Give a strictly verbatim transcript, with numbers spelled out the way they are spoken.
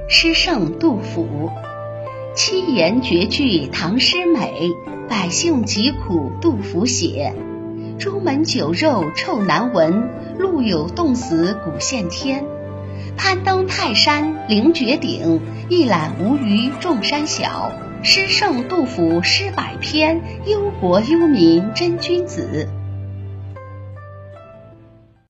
诗圣杜甫。七言绝句唐诗美，百姓疾苦杜甫写。朱门酒肉臭难闻，路有冻死骨现天。攀登泰山凌绝顶，一览无余众山小。诗圣杜甫诗百篇，忧国忧民真君子。